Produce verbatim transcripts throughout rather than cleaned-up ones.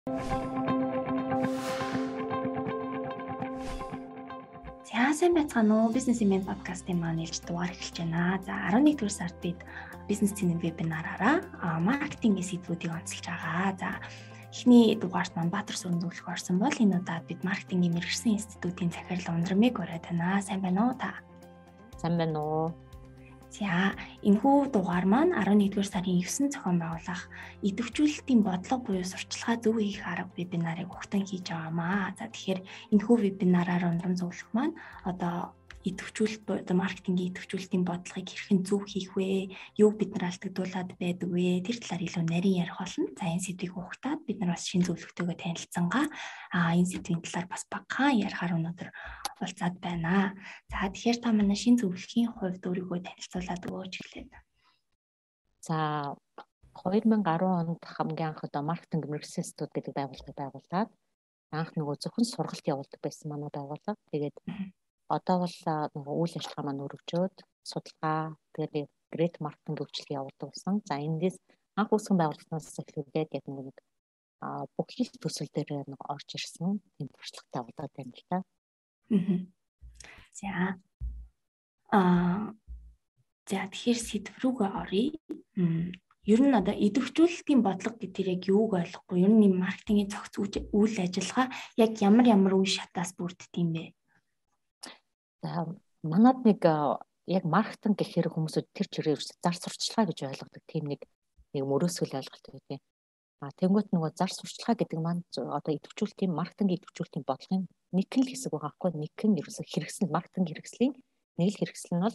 За сайн байцгаана уу? Бизнес имэн подкастын маань ээлж дугаар эхэлж байна. За арван нэгдүгээр сард бид бизнес цэнэм вебинараараа маркетингийн сэдвүүдийг онцолж байгаа. За эхний дугаарт маань Баатар сүрэн зөвлөх орсон бол энэ удаад бид маркетингийн мэргэжсэн институтын захирал Ундрамыг ураад байна. Сайн байна уу та? Сайн байна уу? За энэхүү дугаар маань арван нэгдүгээр сарын евсэнд зохион байгуулах идэвхжүүлэлтийн бодлого буюу сурталчилгаа зөв хийх арга вебинарыг ухтан хийж байгаамаа. За тэгэхээр энэхүү вебинараар Ундрам зөвлөх маань одоо идэвхжүүлэлт одоо маркетингийн идэвхжүүлэлтийн бодлогыг хэрхэн зөв хийх вэ? Юуг бид нар алдагдуулаад байдаг вэ? Тэр талаар илүү нарийн ярих болно. За энэ сэдвийг ухтаад бид нар бас шинэ зөвлөгтэйгөө танилцсангаа а энэ сэдвийн талаар бас багахан ярихаар өнөөдөр болцоод байна. За тэгэхээр та манай шинэ зөвлөхийн хувьд өөрийгөө танилцуулаад өгөөч эхлээд. За хоёр мянга арван онд хамгийн анх одоо маркетинг мэргэжсэн институт гэдэг байгууллагыг байгуулад анх нөгөө зөвхөн сургалт явуулдаг байсан манай байгууллага. Тэгээд одоо бол нөгөө үйл ажиллагаа маань өргөжөөд судалгаа тэгээд грейт маркетинг хөгжлийг явуулдаг болсон. За эндээс анх үүсгэн байгууллагаас эхлүүлээд яг нэг бүх хил төсөл дээр нэг орж ирсэн тийм туршлагатай болоод байна л та. За аа за тэгэхээр сэдв рүүгээ оръё. Ер нь одоо идэвхжүүлэлтийн бодлого гэдэг яг юуг ойлгохгүй. Ер нь маркетингийн цогц үйл ажиллагаа яг ямар ямар үе шатаас бүрддэг юм бэ? За манад нэг яг маркетинг гэхээр хүмүүсүүд тэр чирээ зар сурталчилгаа гэж ойлгодог тийм нэг нэг мөрөөсгөл ойлголт байдаг. А тэнгуут нөгөө зар сурталчилгаа гэдэг маань одоо идэвхжүүлэлтийн маркетингийн идэвхжүүлэлтийн бодлогын нэг л хэсэг байгаа байхгүй. Нэг нь ерөөсө хэрэгсэл маркетинг хэрэгслийн нэг л хэрэгсэл нь бол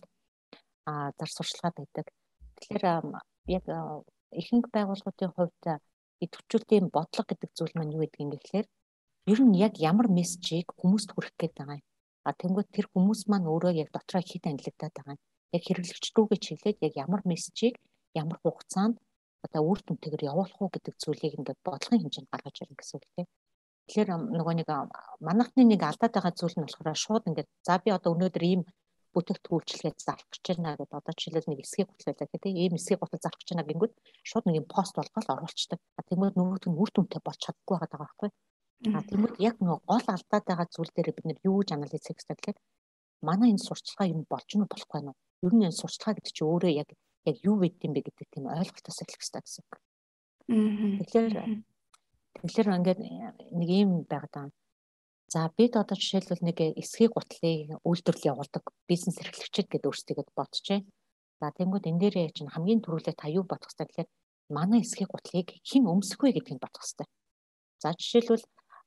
а зар сурталчилгаа байдаг. Тэгэхээр яг ихэнх байгууллагуудын хувьд идэвхжүүлэлтийн бодлого гэдэг зүйл маань юу гэдэг юм бэ гэхээр ер нь яг ямар мессежийг хүмүүст хүргэх гээд байгаа юм. А тэнгуут тэр хүмүүс маань өөрөө яг дотроо хэд анилагдаад байгаа юм. Яг хэрэглэгч рүүгээ чиглээд яг ямар мессежийг ямар хугацаанд одоо үр дүнтэйгээр явуулах уу гэдэг зүйлийг ингээд бодлогын хэмжээнд гаргаж ирнэ гэсэн үг тийм. Тэгэхээр нөгөө нэг манайхны нэг алдаад байгаа зүйл нь болохоор шууд ингээд за би одоо өнөөдөр ийм бүтээгдэхүүн үйлчилгээд зарах гэж байна гэдэг одоо жишээлбэл нэг эсхийг готлуулдаг тийм ийм эсхийг готол зарах гэж байна гингүүд шууд нэг юм пост болгоод оруулцдаг. А тэгмээд нөгөөт нь үр дүнтэй болж чаддаггүй байгаа байхгүй. А тэгмээд яг нөгөө гол алдаад байгаа зүйл дээр бид нэр юу гэж анализ хийх хэрэгтэй гэхээр манай энэ сурталчилгаа юм болж нь болохгүй нь. Ер нь энэ сурталчилгаа гэдэг чинь өөрөө яг яг юу вэ гэдэм бэ гэдэг тийм ойлголтоос эхлэх хэрэгтэй гэсэн үг. Тэгэхээр тэгэхээр ингээд нэг юм байгаад байна. За бид одоо жишээлбэл нэг эсхийг гутлыг үйлдвэрлэл явуулдаг бизнес эрхлэгчид гэдэг өөрсдийгөө бодчихъя. За тэнгууд энэ дээр чинь хамгийн түрүүлээ та юу бодох хэрэгтэй гэхээр манай эсхийг гутлыг хэн өмсөх вэ гэдгийг бодох хэрэгтэй. За жишээлбэл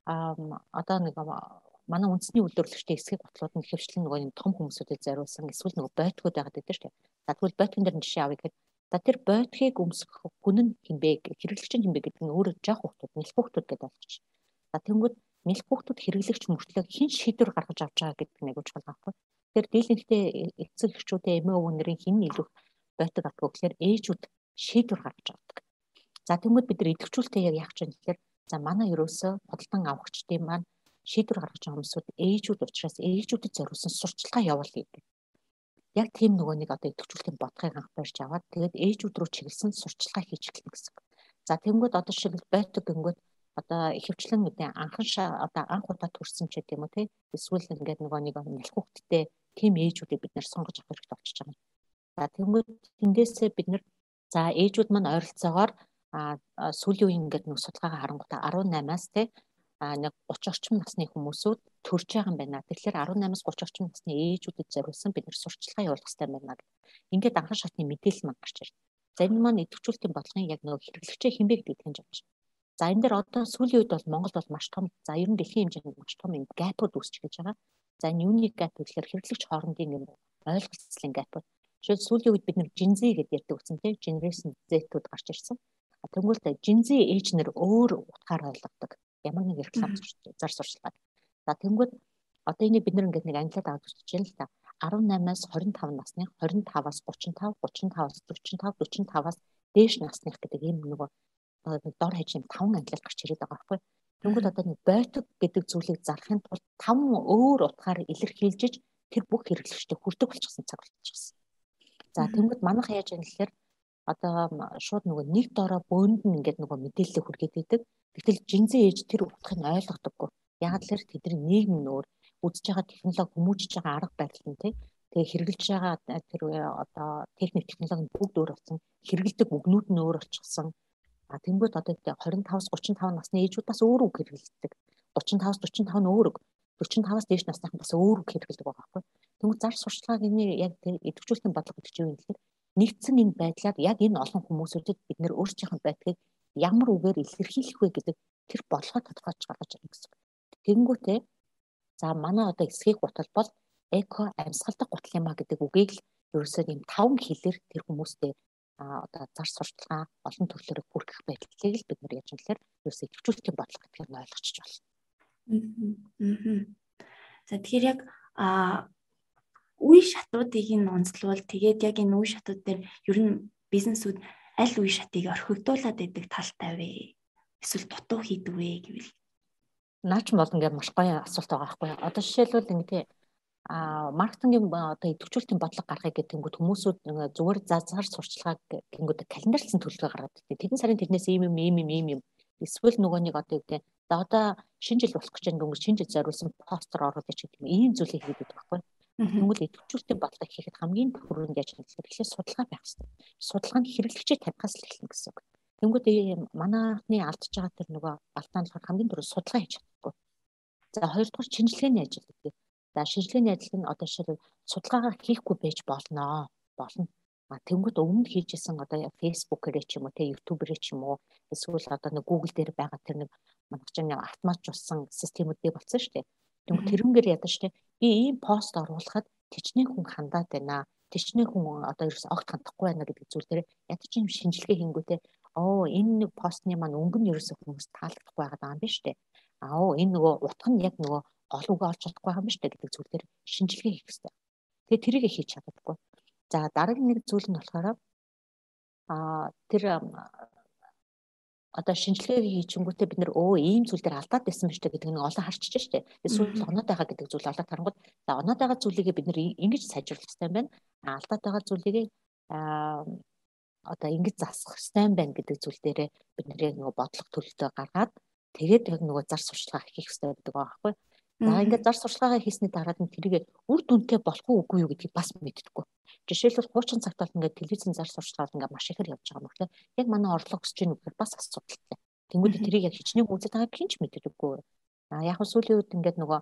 одоо нэг манай үндэсний үйлдвэрлэгчдийн эсхийг гутлууд нь хөвчлэн нөгөө юм том хүмүүсүүдэд зориулсан эсвэл нөгөө бойтгууд байгаад байдаг шүү дээ. За тэгвэл бойтгон дээр жишээ авъя гэхэд за тэр бойтгийг өмсөх хүн нь хинбэ хэрэглэгч нь хинбэ гэдэг нь өөрөө жоох хүүхдүүд нэлэх хүүхдүүд гэдэг болчих. За тэнгууд нэлэх хүүхдүүд хэрэглэгч мөртлөө хэн шийдвэр гаргаж авч байгаа гэдэг нэг үгж байгаа байхгүй. Тэгэхээр дийлэнхтэй эцэг эхчүүдээ эмээ өвгөн нарын хэн илүү бойтог авдаг гэхээр ээжүүд шийдвэр гаргаж авдаг. За тэнгууд бид нар идэвхжүүлэлтээ яг яах гэж тэгэхээр за манай ерөөсөө бодлон авахчдын маань шийдвэр гаргаж байгаа хүмүүсүүд ээжүүд учраас ээжүүдэд зориулсан сурталчилгаа явуулъя гэдэг. Яг тийм нөгөө нэг одоо идэвхжүүлэлтийн бодлогыг анх барьж аваад тэгээд ээжүүд рүү чиглэсэн сурталчилгаа хийж эхэлнэ гэсэн. За тэнгууд одоо шиг бойтог гингүүд одоо ихэвчлэн гэдэг анхан одоо анх удаа төрсэн ч гэдэм үү те эсвэл ингээд нөгөө нэг нэлэх хүүхдтэй тийм ээжүүдийг бид нэр сонгож авах хэрэгтэй болчихж байгаа юм. За тэнгууд тэндээсээ бид нар за ээжүүд маань ойролцоогоор сүүлийн үеийн ингээд нэг судалгаагаа харангуйта арван наймаас те нэг гурван орчим насны хүмүүсүүд төрж байгаа юм байна. Тэгэхээр арван наймаас гурван орчим насны ээжүүдэд зориулсан бид нар сурталчилгаа явуулах хэрэгтэй байна гэдэг. Ингээд анхан шатны мэдээлэл маань гарч ирнэ. За энэ маань идэвхжүүлэлтийн бодлогын яг нөгөө хэрэглэгчээ хинбэ гэдгийг таньж авч байна. За энэ дээр одоо сүүлийн үед бол Монгол бол маш том за ер нь дэлхийн хэмжээнд маш том юм гэпүүд үүсч гэж байгаа. За энэ юуны гэп гэхээр хэрэглэгч хоорондын юм ойлголцлын гэпүүд. Жишээл сүүлийн үед бид нар Gen Z гэдэг ярьдаг үсэн тийм Generation Z-үүд гарч ирсэн. Тэгвэл Gen Z ээж нэр өөр утгаар ойлгодог. Ямар нэг реклам зар сурталчилгаа. За тэнгууд одоо энийг бид нэг нэг англиад аваад үзэж байна л да. арван наймаас хорин тав насны хорин таваас гучин тав, гучин таваас дөрвөн тав, дөрвөн таваас дээш насных гэдэг ийм нөгөө дор хажим таван ангилал гарч ирээд байгаа байхгүй. Тэнгүүд одоо нэг бойтог гэдэг зүйлийг зарахын тулд таван өөр утгаар илэрхийлж тэр бүх хэрэглэгчтэй хүрдэг болчихсон цаг болчихсон. За тэнгүүд манайх яаж яана гэхээр одоо шууд нөгөө нэг дороо бөөнд нь ингээд нөгөө мэдээлэл хүргээд идэг. Гэтэл жинзэн ээж тэр утгыг ойлгодоггүй. Яг л тэдний нийгэм нөр үзэж байгаа технологи хүмүүжиж байгаа арга барил нь тий. Тэгээ хэрэгжилж байгаа тэр одоо техник технологи бүгд өөр болсон. Хэрэгэлдэг үгнүүд нь өөр болчихсон. А тэнгууд одоо двадцать пять тридцать пять насны ээжүүд бас өөр үг хэрэгэлдэг. тридцать пять forty five нь өөр үг. forty five-аас дээш насныхан бас өөр үг хэрэгэлдэг байгаа байхгүй. Тэнгууд зар сурчлагын яг идэвхжүүлэлтийн бодлого гэдэг чинь юу юм гэхээр нэгдсэн энэ байдлаар яг энэ олон хүмүүсүүдэд бид нэр өөрсдийнх байдлыг ямар үгээр илэрхийлэх вэ гэдэг тэр бодлогоо тодорхойлж гаргаж ирнэ гэсэн. Тэнгүүтээ за манай одоо эсхийг гутал бол эко амьсгалдаг гутал юм а гэдэг үгийг л ерөөсөө ийм таван хэлээр тэр хүмүүстээ одоо зар сурталчилгаа олон төрлөөр бүртгэх байдлыг л бид нар яаж юм гэхээр ерөөсөө идэвхжүүлэлтийн бодлого гэдгийг нь ойлгочих болно. Аа. За тэгэхээр яг а үе шатуудыг нь онцлуул тэгээд яг энэ үе шатууд дээр ер нь бизнесүүд аль үе шатыг орхигдуулаад байдаг талтай вэ? Эсвэл дутуу хийдэг вэ гэвэл наач бол ингээд маш гоё асуулт байгаа байхгүй. Одоо жишээлбэл ингээд а маркетингийн одоо идэвхжүүлэлтийн бодлого гаргахыг гэтэнгүүт хүмүүсүүд зүгээр зазгаар сурчлагааг гингүүд календарлсан төлөвлөгөө гаргаад ирдэг. Тэгэн сарын тэрнээс ийм юм ийм юм ийм юм эсвэл нөгөө нэг одоо үгтэй за одоо шинэ жил болох гэж байгаа дөнгөж шинэ жил зориулсан постэр оруулах гэдэг юм ийм зүйлийг хийгээд байдаг байхгүй. Тэгвэл идэвхжүүлэлтийн бодлого хийхэд хамгийн түрүүнд яаж хийх вэ гэхээр судалгаа байх хэрэгтэй. Судалгаанд хэрэглэгчийг тавихаас л эхэлнэ гэсэн үг. Тэнгүүд манайхны алдж байгаа тэр нөгөө алдаа нь болохоор хамгийн түрүү судалгаа хийж чадахгүй. За хоёрдугаар шинжилгээний ажил гэдэг. За шинжилгээний ажил нь одоо жишээлбэл судалгаагаа хийхгүй байж болно. Болно. А тэнгүүд өмнө хийжсэн одоо Facebook-ээр ч юм уу, тэ YouTube-ээр ч юм уу, эсвэл одоо нэг Google дээр байгаа тэр нэг манайх чинь автоматжуулсан системүүдтэй болсон шүү дээ. Тэнгүүд тэрнгээр ядаж штэ би ийм пост оруулахад тэжнээ хүн хандаад байна. Тэжнээ хүн одоо ерөөс огт хандахгүй байна гэдэг зүйл дээр ядаж юм шинжилгээ хийнгүүтээ оо энэ нэг постны маань өнгө нь ерөөсөө хүмүүс таалагдахгүй байгаа юм биш үү? Аа оо энэ нөгөө утга нь яг нөгөө гол үг олж чадахгүй байгаа юм биш үү гэдэг зүйл дээр шинжилгээ хийх хэрэгтэй. Тэгээ тэрийг хийж чаддаггүй. За дараагийн нэг зүйл нь болохоор аа тэр одоо шинжилгээ хийчихэнгүүтээ бид нэр өө ийм зүйл дээр алдаад байсан биш үү гэдэг нэг олон харчиж штэ. Эсвэл оноод байгаа гэдэг зүйл олоод харангууд за оноод байгаа зүйлийг бид нэр ингэж сайжруулах хэрэгтэй юм байна. Алдаад байгаа зүйлийг аа одоо ингэж засах хэрэгтэй юм байна гэдэг зүйл дээр бид нэр нөгөө бодлого төлөлтөө гаргаад тэгээд яг нөгөө зар сурчлагаа хийх хэрэгтэй гэдэг байгаа байхгүй. За ингээд зар сурчлагаа хийсний дараад нь тэрийг үр дүнтэй болох уугүй юу гэдгийг бас мэддэггүй. Жишээлбэл хуучин цагт бол ингээд телевизэн зар сурчлагаар ингээд маш ихээр явж байгаа юм байна. Яг манай орлого өсөж ийн үгээр бас асуудалтай. Тэнгүүд тэрийг яг хичнээн үзэж байгааг хинч мэддэггүй. А яг сүүлийн үед ингээд нөгөө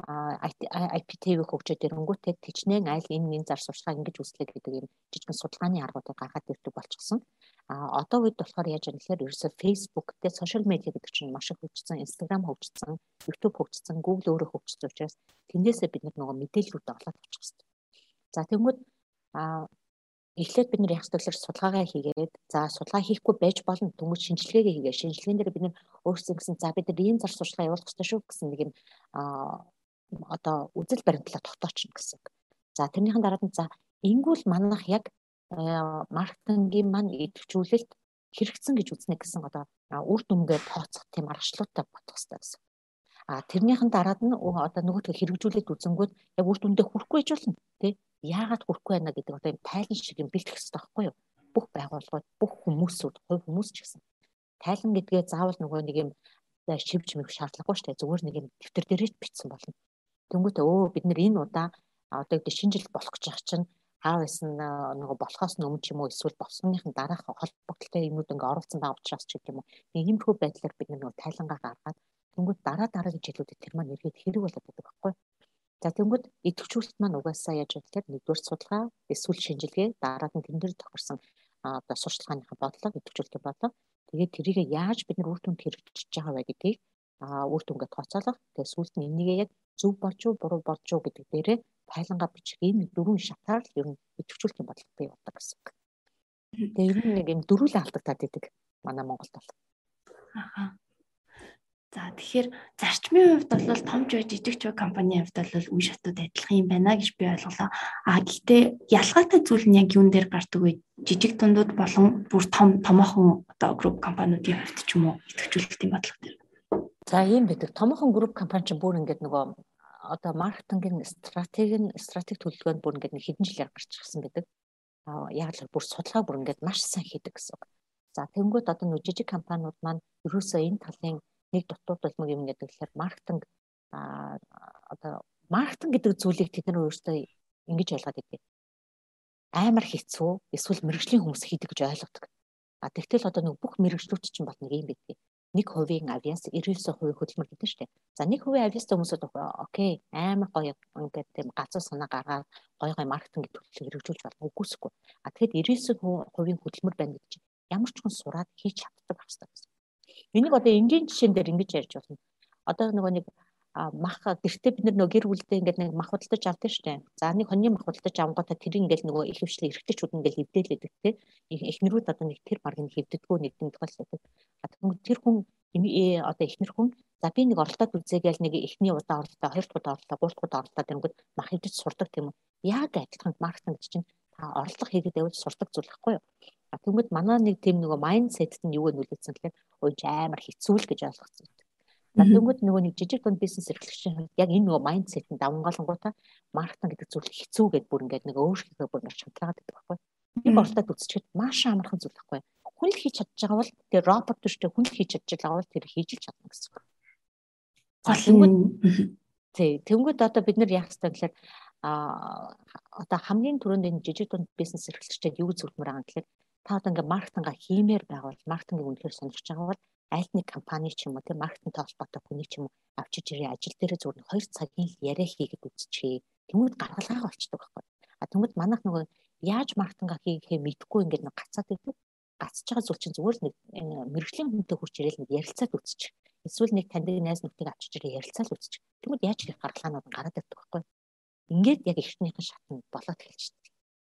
ай пи ти ви хөгжөөд ирэнгүүтээ хичнээн айл энэ энэ зар сурчлагаа ингэж үүслэх гэдэг юм жижигэн судалгааны аргуудыг гаргаад ирдэг болчихсон. А одоо үед болохоор яаж юм гэхээр ерөөсөө Facebook дээр сошиал медиа гэдэг чинь маш их хөгжсөн, Instagram хөгжсөн, YouTube хөгжсөн, Google өөрөө хөгжсөн учраас тэндээсээ бид нөгөө мэдээллүүд олоод авчих хэрэгтэй. За тэгвэл а эхлээд бид нар яг зөвлөөр судалгаагаа хийгээд за судалгаа хийхгүй байж болно түнгүй шинжилгээгээ хийгээ. Шинжилгээнд дээр бид нар өөрсдөө гэсэн за бид нар ийм зар сурчлагаа явуулах хэрэгтэй шүү гэсэн нэг юм а одоо үзэл баримтлал тогтоочихно гэсэн. За тэрнийхэн дараад нь за ингүүл манайх яг маркетингийн маань идэвхжүүлэлт хэрэгцсэн гэж үзнэ гэсэн одоо үр дүнгээ тооцох тийм аргачлалтай бодох хэрэгтэй гэсэн. А тэрнийхэн дараад нь одоо нөгөөдгөө хэрэгжүүлээд үзэнгүүт яг үр дүндээ хүрэхгүй байж болно тий. Яагаад хүрэхгүй байна гэдэг одоо юм тайлан шиг юм бэлтгэх хэрэгтэй байхгүй юу? Бүх байгууллагууд, бүх хүмүүсүүд, хувь хүмүүс ч гэсэн. Тайлан гэдгээ заавал нөгөө нэг юм шивж мэх шаардлагагүй шүү дээ. Зүгээр нэг юм дэвтэр дээрээ бичсэн болно. Тэнгүүтээ өө бид нэр энэ удаа одоо гэдэг шинэ жил болох гэж байгаа чинь хаа байсан нөгөө болохоос өмнө ч юм уу эсвэл болсныхын дараах холбогдлолтой юмуд ингээ оруулсан байгаа учраас ч гэх юм уу. Иймэрхүү байдлаар бид нөгөө тайлангаа гаргаад тэнгүүд дараа дараагийн жилүүдэд тэр маань эргээд хэрэг болоод байдаг байхгүй. За тэнгүүд идэвхжүүлэлт маань угаасаа яаж вэ гэхээр нэгдүгээр судалгаа, эсвэл шинжилгээ, дараад нь тэн дээр тохирсон одоо сурчлагынхаа бодлого, идэвхжүүлэлтийн бодлого. Тэгээд тэрийг яаж бид нар үр дүнд хэрэгжиж байгаа вэ гэдгийг а үр дүнгээ тооцоолох. Тэгээд сүүлд нь энийгээ яг зөв болж уу, буруу болж уу гэдэг дээрээ тайлангаа бичих ийм дөрвөн шатаар л ер нь идэвхжүүлэлтийн бодлого бий болдог гэсэн. Тэгээд ер нь нэг юм дөрвөлэн алдагдаад идэг манай Монголд бол. Аха. За тэгэхээр зарчмын хувьд бол том ч жижиг ч компанийн хувьд бол үе шатууд адилхан юм байна гэж би ойлголоо. А гэхдээ ялгаатай зүйл нь яг юун дээр гардаг вэ? Жижиг дундууд болон бүр том томоохон одоо групп компаниудын хувьд ч юм уу идэвхжүүлэлтийн бодлого дээр. За ийм байдаг. Томоохон групп компани ч бүр ингээд нөгөө одоо маркетингийн стратеги стратеги төлөвлөгөөнд бүр ингээд хэдэн жилээр гарч ирсэн байдаг. яг л бүр судалгаа бүр ингээд маш сайн хийдэг гэсэн үг. За тэнгууд одоо нөө жижиг компаниуд маань ерөөсөө энэ талын нэг дутууд болмог юм гэдэг тэгэхээр маркетинг а одоо маркетинг гэдэг зүйлийг тэд нар өөрсдөө ингэж ойлгоод идэв. Амар хэцүү эсвэл мэрэгжлийн хүмүүс хийдэг гэж ойлгодог. А тэгтэл одоо нэг бүх мэрэгжлүүд чинь бол нэг юм байдаг. Нэг хувийн авиас девять хувийн хөдөлмөр гэдэг нь шүү дээ. За нэг хувийн авиастай хүмүүсүүд окей амар гоё ингээд тийм галзуу санаа гаргаад гоё гоё маркетинг төлөвлөлт хэрэгжүүлж болно үгүйсэхгүй. А тэгэхэд девять хувийн хөдөлмөр байна гэдэг чинь ямар ч хүн сураад хийж чаддаг хэрэгтэй гэсэн. Энийг одоо энгийн жишээн дээр ингэж ярьж болно. Одоо нөгөө нэг мах гэртээ бид нөгөө гэр бүлдээ ингээд нэг мах худалдаж авдаг шүү дээ. За нэг хоньны мах худалдаж авангуудаа тэр ингээд нөгөө их хвшлээ эргэжтэйчүүд ингээд хөвдөлөдөг те. Эхнэрүүд одоо нэг тэр баг нэг хөвддөггүй нэг юм тохиолддог. Тэр хүн одоо эхнэр хүн за би нэг оролдоод үзээгээл нэг эхний удаа оролдоо, хоёр дахь удаа оролдоо, гурав дахь удаа оролдоод тэнгүүд мах хөвдөж сурдаг тийм үү. Яг адилхан маркетинг чинь та орлого хийгээд явж сурдаг зүйл байхгүй юу? Тэнгүүд манай нэг тийм нөгөө майндсет нь юу вэ нөлөөсөн гэхээр ой амар хэцүү л гэж ойлгоцсон. За тэнгүүд нөгөө нэг жижиг дунд бизнес эрхлэгчийн яг энэ нөгөө майндсетэнд давангаалангуудаа маркетинг гэдэг зүйл хэцүү гэдээ бүр ингээд нэг өөрсдөө бүр ингээд шантраад байдаг байхгүй. Нэг оролдоод үзчихэд маш амархан зүйл байхгүй. Хүн л хийж чадж байгаа бол тэр робот төштэй хүн л хийж чадж байгаа бол тэр хийж л чадна гэсэн үг. Тэнгүүд тий тэнгүүд одоо бид нар яах ёстой гэхээр а одоо хамгийн түрүүнд энэ жижиг дунд бизнес эрхлэгчтэй юу зөвлөмөр байгаа гэхээр та одоо ингээд маркетинга хиймээр байгавал маркетингийг үнэхээр сонирхож байгаа бол аль нэг компани ч юм уу тийм маркетинг толботой хүний ч юм уу авчиж ирээ ажил дээр зүгээр хоёр цагийн яриа хийгээд үзчихээ. Тэнгүүд гаргалгаа болчдөг байхгүй. А тэнгүүд манайх нөгөө яаж маркетинга хийхээ мэдгүй ингээд нэг гацаад байдаг. Гацж байгаа зүйл чинь зүгээр л нэг мэрэгжлийн хүнтэй хурч ирээл нэг ярилцаад үзчих. Эсвэл нэг таньдаг найз нөхдөйг авчиж ирээ ярилцаад үзчих. Тэнгүүд яаж хийх гаргалгаанууд гараад ирдэг байхгүй. Ингээд яг эхнийхэн шатнд болоод эхэлчихдэг.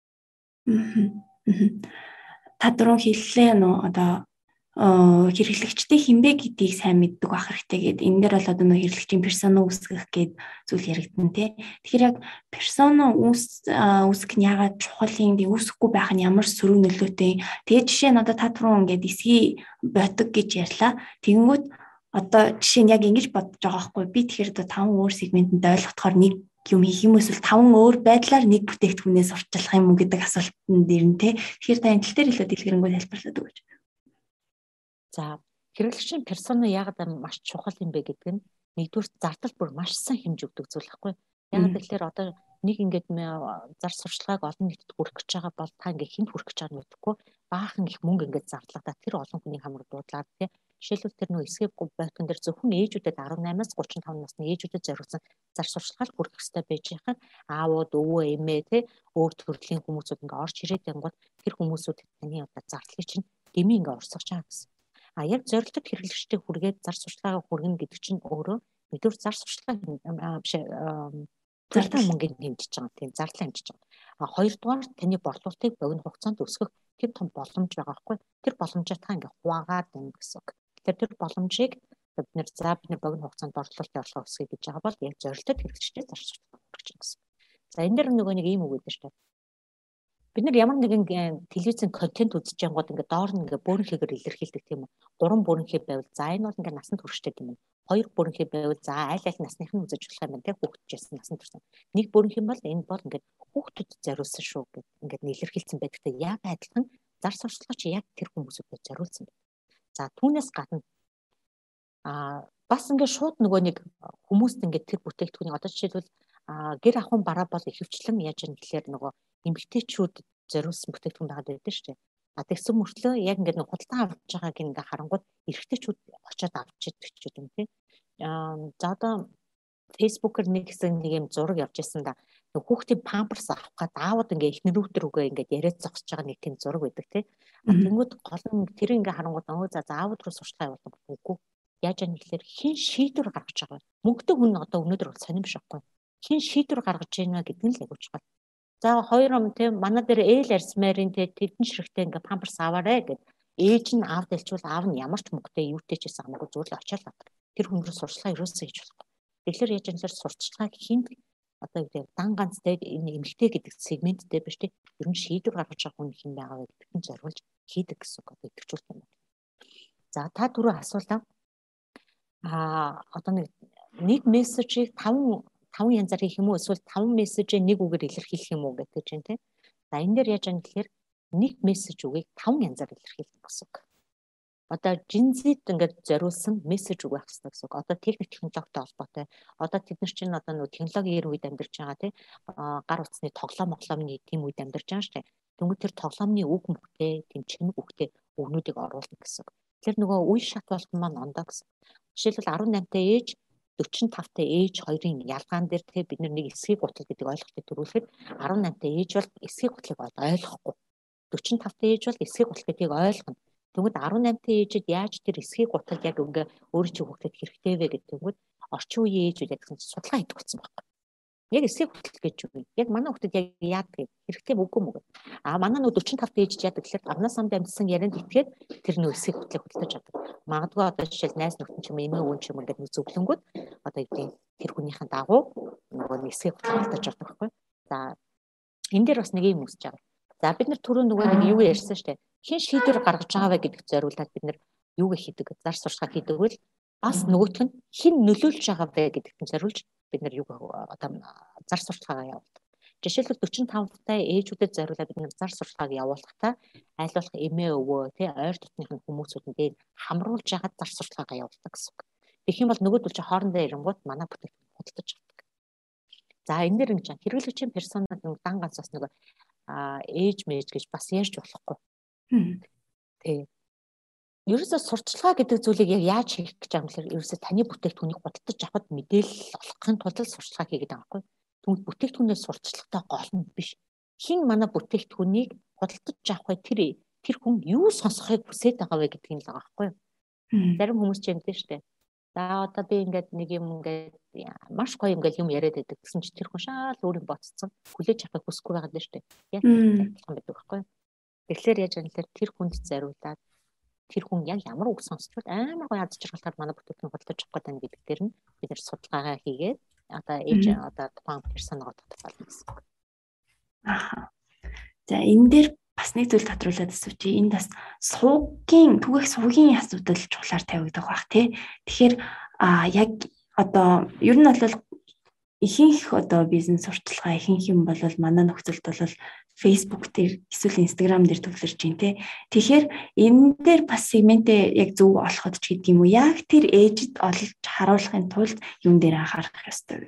Та дөрөв хэллээ нөө одоо хэрэглэгчтэй хинбэ гэдгийг сайн мэддэг байх хэрэгтэй гэдэг. Энэ дээр бол одоо нөө хэрэглэгчийн персона үүсгэх гэдэг зүйл яригдана тий. Тэгэхээр яг персона үүсгэх нь яагаад чухал юм бэ? Үүсэхгүй байх нь ямар сөрөг нөлөөтэй. Тэгээд жишээ нь одоо та түрүүн ингээд эсхий ботог гэж ярьлаа. Тэгэнгүүт одоо жишээ нь яг ингэж бодож байгаа байхгүй. Би тэгэхээр одоо таван өөр сегментэнд ойлгохоор нэг юм хийх юм эсвэл таван өөр байдлаар нэг бүтээгдэхүүнээс орчлох юм уу гэдэг асуултанд ирнэ тий. Тэгэхээр та энэ тал дээр илүү дэлгэрэнгүй тайлбарлаад өгөөч. За хэрэглэгчийн персона яагаад маш чухал юм бэ гэдэг нь нэгдүгээр зардал бүр маш сайн хэмж өгдөг зүйл байхгүй. Яагаад гэвэл одоо нэг ингээд зар сурчлагыг олон нийтэд хүргэх гэж байгаа бол та ингээд хинт хүргэх гэж байгааг нь мэдэхгүй баахан их мөнгө ингээд зардлаа тэр олон хүний хамар дуудлаад тий. Жишээлбэл тэр нөө эсгэг бойтон дээр зөвхөн ээжүүдэд арванаймаас гурван таван насны ээжүүдэд зориулсан зар сурчлагыг хүргэх хэрэгтэй байж байгаа нь аавууд өвөө эмээ тий өөр төрлийн хүмүүсүүд ингээд орж ирээд байнгут тэр хүмүүсүүд таны одоо зардлыг чинь дэмий ингээд урсгаж байгаа гэсэн. А яг зорилттой хэрэглэгчтэй хүргээд зар сурчлагаа хүргэнэ гэдэг чинь өөрөө нэгдүгээр зар сурчлага биш зардал мөнгөнд хэмжиж байгаа тийм зардал хэмжиж байгаа. А хоёрдугаар таны борлуулалтыг богино хугацаанд өсгөх тэр том боломж байгаа байхгүй. Тэр боломжоо та ингээ хуваагаад байна гэсэн үг. Тэгэхээр тэр боломжийг бид нэр за бид нэр богино хугацаанд борлуулалтын орлого өсгөе гэж байгаа бол яг зорилттой хэрэглэгчтэй зар сурчлага хүргэж байгаа гэсэн. За энэ дэр нөгөө нэг ийм үг гэдэг шүү дээ. Бид нар ямар нэгэн телевизэн контент үзэж байнгут ингээ доор нь ингээ бөөрнхийгээр илэрхийлдэг тийм үү. Гурван бөөрнхий байвал за энэ бол ингээ насанд хүрчтэй юм. Хоёр бөөрнхий байвал за аль аль насных нь үзэж болох юм байна те хүүхдчээс насанд хүрсэн. Нэг бөөрнхий бол энэ бол ингээ хүүхдүүдэд зориулсан шүү гэд ингээ илэрхийлсэн байдагтай яг адилхан зар сурчлага чи яг тэр хүмүүсүүдэд зориулсан байна. За түүнээс гадна а бас ингээ шууд нөгөө нэг хүмүүст ингээ тэр бүтээгдэхүүнийг одоо жишээлбэл гэр ахуйн бараа бол ихэвчлэн яаж юм гэхээр нөгөө эмэгтэйчүүд зориулсан бүтээгдэхүүн байгаад байдаг шүү дээ. А тэгсэн мөртлөө яг ингээд нэг худалдан авч байгааг ингээ харангууд эрэгтэйчүүд очиод авч идэх ч юм тий. Аа за одоо фейсбүүкээр нэг хэсэг нэг юм зураг явж байсан да. Нэг хүүхдийн памперс авах гад аауд ингээ эхнэрүүдэр үгээ ингээд яриад зогсож байгаа нэг тийм зураг байдаг тий. А тэнгууд гол нь тэр ингээ харангууд өө за аауд руу сурчлага явуулдаг үгүй. Яаж яах гэхээр хин шийдвэр гаргаж байгаа. Мөнгөтэй хүн одоо өнөөдөр бол сонирм шахгүй. Хин шийдвэр гаргаж байна гэдэг нь л агуулж байгаа. За хоёр ом тийм манай дээр ээл арсмарын тийм тэдэн ширхтээ ингээ памперс аваарэ гэд ээж нь аав дэлчүүл аав нь ямар ч мөнгөтэй юутэй ч гэсэн хамаагүй зүгээр л очиад авдаг. Тэр хүн рүү сурчлага ерөөсөө хийж болохгүй. Тэгэхээр яаж юм зэрэг сурчлагыг хинт одоо юу гэдэг дан ганцтай энэ эмэгтэй гэдэг сегменттэй биш тийм ер нь шийдвэр гаргаж байгаа хүн хэн байгаа вэ гэдэгт нь зориулж хийдэг гэсэн үг идэвхжүүлэх юм. За та түрүү асуулаа а одоо нэг нэг мессежийг таван таван янзаар хийх юм уу эсвэл таван мессежээ нэг үгээр илэрхийлэх юм уу гэдэг чинь тийм. За энэ дээр яаж юм гэхээр нэг мессеж үгийг таван янзаар илэрхийлдэг гэсэн үг. Одоо жинзид ингээд зориулсан мессеж үг байх хэрэгтэй гэсэн үг. Одоо техник технологитой холбоотой. Одоо тэд нар чинь одоо нөгөө технологийн үед амьдарч байгаа тий гар утасны тоглоом моглоомны тийм үед амьдарч байгаа шүү дээ. Тэнгүүд тэр тоглоомны үг мөхтэй, тийм чимэг үгтэй өгнүүдийг оруулна гэсэн үг. Тэр нөгөө үе шат болтон маань ондоо гэсэн. Жишээлбэл арван наймтай ээж дөрвөн тавтай ээж хоёрын ялгаан дээр тий бид нэг эсхийг гутал гэдэг ойлголтыг төрүүлэхэд арван наймтай ээж бол эсхийг гутлыг ойлгохгүй. дөрвөн тавтай ээж бол эсхийг гутал гэдгийг ойлгоно. Тэгвэл арван наймтай ээжид яаж тэр эсхийг гутал яг ингээ өөрөө чи хүүхдэд хэрэгтэй вэ гэдэг тэгвэл орчин үеийн ээжүүд яг гэсэн судалгаа хийдэг болсон байхгүй. Яг эсхийг гутал гэж юу? Яг манай хүүхдэд яг яадаг хэрэгтэй үгүй мөг. А манай нөө дөрвөн тавтай ээжид яадаг гэхээр амнаас амд амьдсан ярианд итгээд тэр нөө эсхийг гуталыг худалдаж авдаг. Магадгүй одоо жишээл найз нөхөн ч юм эмээ өвөн ч юм ингээд нэг зөвлөнгүүд одоо юу тэр хүнийхэн дагуу нөгөө эсхийг гутал худалдаж авдаг байхгүй. За энэ дээр бас нэг юм үсэж байгаа. За бид нар түрүү нөгөө нэг юу ярьсан шүү дээ. Хин шийдвэр гаргаж байгаа вэ гэдэгт зориулаад бид нар юуг хийдэг, зар сурталчилгаа хийдэг бол бас нөгөөх нь хин нөлөөлж байгаа вэ гэдэгт зориулж бид нар юуг одоо зар сурталчилгаагаа явуулдаг. Жишээлбэл дөрвөн тавтай ээжүүдэд зориулаад бид нар зар сурталчилгааг явуулахдаа аль болох эмээ өвөө тий ойр дотныхын хүмүүсүүдэнд хамруулж ягаад зар сурталчилгаагаа явуулдаг гэсэн үг. Тэгэх юм бол нөгөөдөл чи хоорондоо ирэнгууд манай бүтээгдэхүүн худалдаж авдаг. За энэ дэр ингэж хэрэглэгчийн персонал нэг дан ганц бас нэг а ээж мэж гэж бас ярьж болохгүй. Тэг. Ерөөсөө сурталчилгаа гэдэг зүйлийг яг яаж хийх гэж байгаа юм бэ? Ерөөсөө таны бүтээгдэхүүнийг худалдаж авахд мэдээлэл олохын тулд сурталчилгаа хийгээд байгаа байхгүй. Тэгвэл бүтээгдэхүүнээс сурталчилгатай гол нь биш. Хин манай бүтээгдэхүүнийг худалдаж авах вэ? Тэр тэр хүн юу сонсохыг хүсэж байгаа вэ гэдгийг л байгаа байхгүй. Зарим хүмүүс ч юм дээ штэ. За одоо би ингээд нэг юм ингээд маш гоё ингээд юм яриад байдаг гэсэн чи тэр хүн шаал өөрийн боцсон хүлээж авахыг хүсэхгүй байгаа даа штэ. Яг адилхан байдаг байхгүй. Тэгэхээр яаж анилаар тэр хүнд зориулаад тэр хүн яг ямар үг сонсчвол амар гоё аз жаргалтай манай бүтээгдэхүүн худалдаж авах гэдэг нь гэдэг дээр нь бид нар судалгаагаа хийгээд одоо ээж одоо тухайн персоногоо тодорхойлно гэсэн. Аа. За энэ дээр бас нэг зүйл тодруулаад асууж, энд бас суугийн түгээх суугийн асуудал чухлаар тавигдах бах тий. Тэгэхээр а яг одоо ер нь бол ихэнх одоо бизнес сурталчилгаа ихэнх юм бол манай нөхцөлд бол Facebook дээр эсвэл Instagram дээр төвлөрч байна тий. Тэгэхээр энэ дээр бас сегментээ яг зөв олоход ч гэдэг юм уу? Яг тэр ээжид олж харуулахын тулд юм дээр анхаарах ёстой вэ?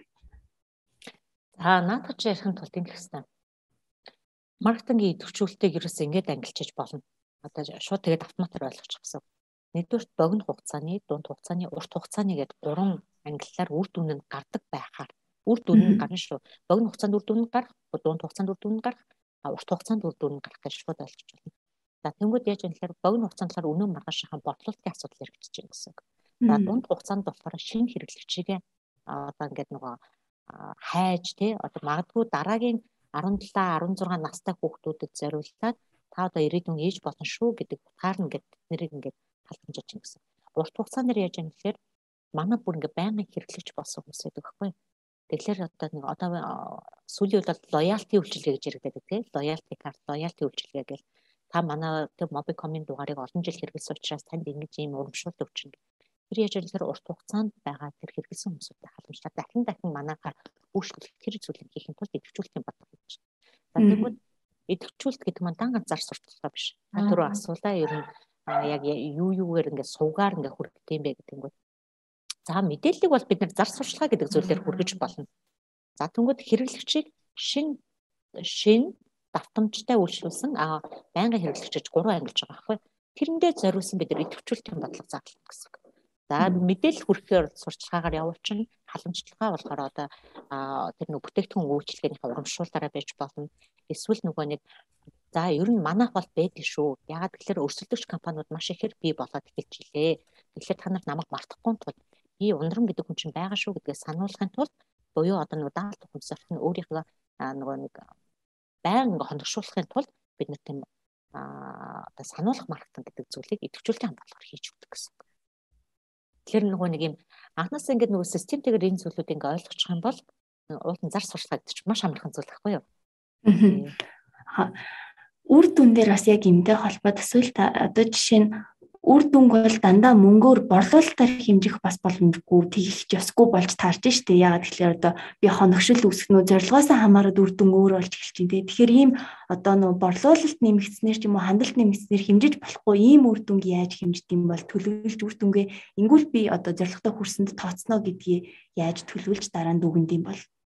За наадах чи ярихын тулд ингэх хэрэгтэй. Маркетингийн идэвхжүүлэлтийг ерөөсөө ингэж ангилчиж болно. Одоо шууд тэгээд автоматар ойлгочих гэсэн. Нэгдүгээр богино хугацааны, дунд хугацааны, урт хугацааны гэдэг гурван ангиллаар үр дүн нь гардаг байхаар үр дүн нь гарна шүү. Богино хугацаанд үр дүн нь гарах, дунд хугацаанд үр дүн нь гарах, урт хугацаанд үр дүн нь гарах гэж шууд ойлгож байна. За тэнгууд яаж юм гэхээр богино хугацаанд болохоор өнөө маргаашийн бодлолтын асуудал яригдчихэж байна гэсэн. За дунд хугацаанд болохоор шинэ хэрэглэгчийн одоо ингээд нөгөө хайж тий одоо магадгүй дараагийн арван долоо арван зургаан настай хүүхдүүдэд зориулаад та одоо ирээдүйн ээж болно шүү гэдэг утгаар нь ингээд тэднийг ингээд талхамжиж чинь гэсэн. Урт хугацаанд яаж юм гэхээр манай бүр ингээд байнгын хэрэглэгч болсон хүмүүс байдаг байхгүй. Тэгэхээр одоо нэг одоо сүүлийн үед бол лоялти үйлчилгээ гэж яригддаг тий лоялти карт, лоялти үйлчилгээ гэл та манай тэг Mobicom-ийн дугаарыг олон жил хэрэглэсэн учраас танд ингэж ийм урамшуулт өвчин. Тэр яаж ихээр урт хугацаанд байгаа тэр хэрэглэсэн хүмүүстэй халамжлаад дахин дахин манайхаар үйлчлүүлэх тэр зүйлийг хийхин тулд идэвхжүүлэлтийн бодлого гэж. За тэгвэл идэвхжүүлэлт гэдэг маань дан ганц зар сурталчилгаа биш. Та түрүү асуулаа ер нь яг юу юугаар ингээд суугаар ингээд хүргэх юм бэ гэдэг нь. За мэдээллийг бол бид нар зар сурталчилгаа гэдэг зүйлээр хүргэж болно. За тэгвэл хэрэглэгчийг шин шин давтамжтай үйлчлүүлсэн а байнгын хэрэглэгчж гурван ангилж байгаа байхгүй. Тэрэндээ зориулсан бид нар идэвхжүүлэлтийн бодлого заална гэсэн. За мэдээлэл хүргэхээр сурталчилгаагаар явуулчихна. Халамжлалгаа болохоор одоо тэр нэг бүтээгдэхүүн үйлчлэгээнийхээ урамшуулаараа байж болно. Эсвэл нөгөө нэг за ер нь манайх бол байдаг шүү. Ягаад гэхээр өрсөлдөгч компаниуд маш ихээр бий болоод эхэлчихлээ. Тэгэхээр та нар намайг мартахгүй тул би ундрам гэдэг хүн чинь байгаа шүү гэдгээ сануулгын тулд буюу одоо нөгөө даалт хүнсэрт нь өөрийнхөө нөгөө нэг байнга хоногшуулахын тулд бид нар тийм одоо сануулгах маркетинг гэдэг зүйлийг идэвхжүүлэлтийн хамгаалалаар хийж өгдөг гэсэн. Тэгэхээр нөгөө нэг юм анхнаас ингээд нөгөө системтэйгээр энэ зүйлүүд ингээд ойлгочих юм бол уулын зар сурталчилгаа гэдэг чинь маш амархан зүйл байхгүй юу? Аа. Үр дүн дээр бас яг энэтэй холбоод эсвэл одоо жишээ нь үр дүнг бол дандаа мөнгөөр борлуулалтаар хэмжих бас боломжгүй тэгэх ёсгүй болж таарч штэ. Ягаад тэгэхээр одоо би хоногшил үүсгэнүү зорилгоосоо хамаарат үр дүн өөр болж эхэлж байна. Тэгэхээр ийм одоо нөө борлуулалт нэмэгдснээр ч юм уу хандлт нэмэгдснээр хэмжиж болохгүй ийм үр дүнг яаж хэмждэг юм бол төлөвлөж үр дүнгээ ингүүл би одоо зорилготой хүрсэнд тооцно гэдгийг яаж төлөвлөж дараа нь дүгэнд юм бол.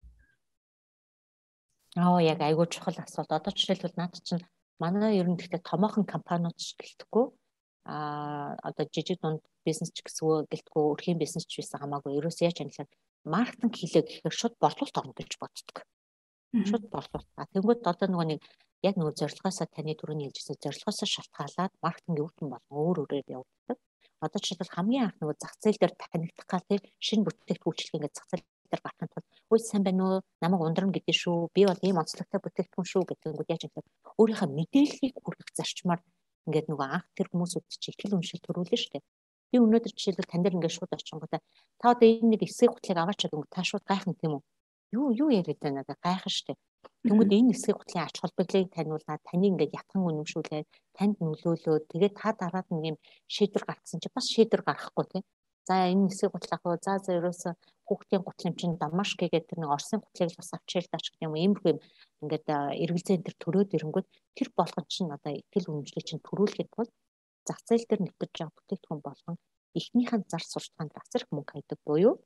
Аа яг айгүй чухал асуулт. Одоо жишээлбэл наад чинь манай ер нь гэхдээ томоохон компаниуд ч гэлтггүй а одоо жижиг дунд бизнес ч гэсгүй гэлтггүй өрхийн бизнес ч байсан хамаагүй ерөөсөө яаж англиар маркетинг хийлээ гэхээр шууд борлуулалт орно гэж боддог. Шууд борлуулалт. А тэгвэл одоо нөгөө нэг яг нөгөө зорилгоосоо таны түрүүний хэлжсэн зорилгоосоо шалтгаалаад маркетинг өвтөн болон өөр өөрөөр явагддаг. Одоо жишээлбэл хамгийн анх нөгөө зах зээл дээр танигдах гал тийм шинэ бүтээгдэхүүн ингээд зах зээл дээр гарахын тулд үй сайн байна уу намайг ундрам гэдэг шүү би бол ийм онцлогтой бүтээгдэхүүн шүү гэдэг нь яаж юм өөрийнхөө мэдээллийг хүргэх зарчмаар ингээд нөгөө анх тэр хүмүүсүүд чи ихтгэл үншил төрүүлнэ шүү дээ. Би өнөөдөр жишээлбэл тань дээр ингээд шууд очингуудаа та одоо энэ нэг эсрэг гутлыг аваачаад өнгө та шууд гайхна тийм үү? Юу юу яриад байна надад гайхна шүү дээ. Тэнгүүд энэ эсрэг гутлын ач холбогдлыг таниулаад таны ингээд ятхан үнэмшүүлээд танд нөлөөлөө тэгээд та дараад нэг юм шийдвэр гаргасан чи бас шийдвэр гаргахгүй тийм. За энэ эсрэг гутал авах за за ерөөсө хүүхдийн гутал юм чинь дамашки гэдэг тэр нэг Оросын гутлыг бас авчирч даач гэх юм уу иймэрхүү юм ингээд эргэлзээ энэ төр төрөөд ирэнгүүт тэр болгон чинь одоо итгэл үнэмшлийг чинь төрүүлэхэд бол зах зээл дээр нэвтэж байгаа бүтээгдэхүүн болгон эхнийхэн зар сурталчилгаанд асар их мөнгө хайдаг буюу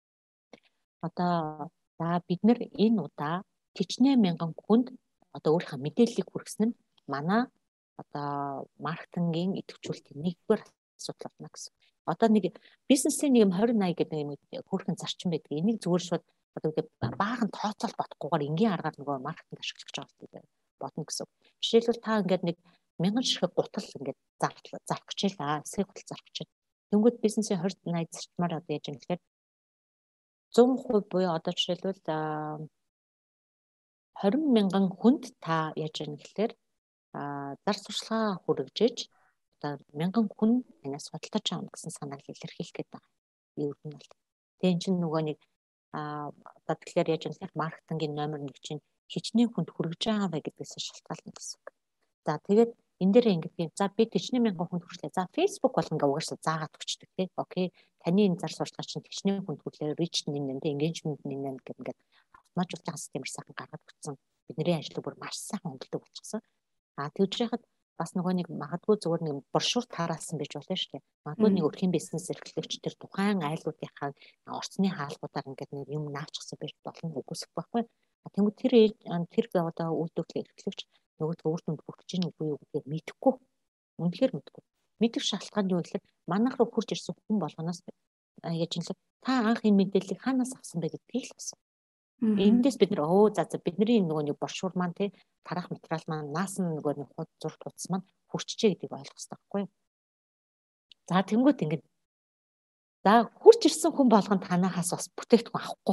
одоо за бид нэр энэ удаа тэчнээ мянган хүнд одоо өөрийнхөө мэдээллийг хүргэсэн нь манай одоо маркетингийн идэвхжүүлэлтийн нэгдүгээр асуудал байна гэсэн. Одоо нэг бизнесийн нэг юм двадцать eighty гэдэг юм хөрхэн зарчим байдаг. Энийг зүгээр шууд одоо ингэ баахан тооцоол бодохгүйгээр энгийн аргаар нөгөө маркетинг ашиглаж байгаа бодно гэсэн. Жишээлбэл та ингээд нэг мянган ширхэг гутал ингээд зарах гэж байлаа. Эсрэг гутал зарах гэж. Тэнгүүд бизнесийн двадцать eighty зарчмаар одоо яаж юм гэхээр one hundred percent буюу одоо жишээлбэл twenty мянган хүнд та яаж юм гэхээр зар сурталчилгаа хүргэж одоо мянган хүн танаас худалдаж авах гэсэн санааг илэрхийлэх гээд байгаа. Юу юм бол. Тэгээ эн чинь нөгөө нэг аа одоо тэгэхээр яаж юм бэ? Маркетингийн номер нэг чинь хичнээн хүнд хүргэж байгаа бай гэдгээс шалтгаална гэсэн үг. За тэгээд энэ дээр ингэдэг. За би хичнээн мянган хүнд хүрчлээ. За Facebook бол ингээ угаасаа заагаад өгчдөг тий. Окей. Таны энэ зар сурталчилгаа чинь хичнээн хүнд хүрлээ. Reach нэмнэ тий. Engagement нэмнэ гэдэг ингээд автоматжуулсан системээр сайхан гаргаад өгсөн. Бидний ажлыг бүр маш сайхан хөндлөдөг болчихсон. А тэгж яхад бас нөгөө нэг магадгүй зүгээр нэг брошюр тараасан байж болно шүү дээ. Магадгүй нэг өрхийн бизнес эрхлэгч тэр тухайн айлуудынхаа орцны хаалгуудаар ингээд нэг юм наавчихсан байж болно үгүйсэх байхгүй. Тэнгүүд тэр тэр одоо үйлдвэрлэл эрхлэгч нөгөө үр дүнд бүрдэж ийн үгүй юу гэдгийг мэдэхгүй. Үнэхээр мэдэхгүй. Мэдэх шалтгаан юу гэхээр манайх руу хурж ирсэн хүн болгоноос яаж юм л та анх энэ мэдээллийг хаанаас авсан бэ гэдгийг л асуу. Эндээс бид нэр өө за за бидний нөгөө нэг брошюр маань тий тарах материал маань наасан нөгөө нэг худ зурт утас маань хүрчжээ гэдгийг ойлгох хэрэгтэй байхгүй юу? За тэнгуут ингэж за хурж ирсэн хүн болгон танахаас бас бүтээгдэхүүн авахгүй.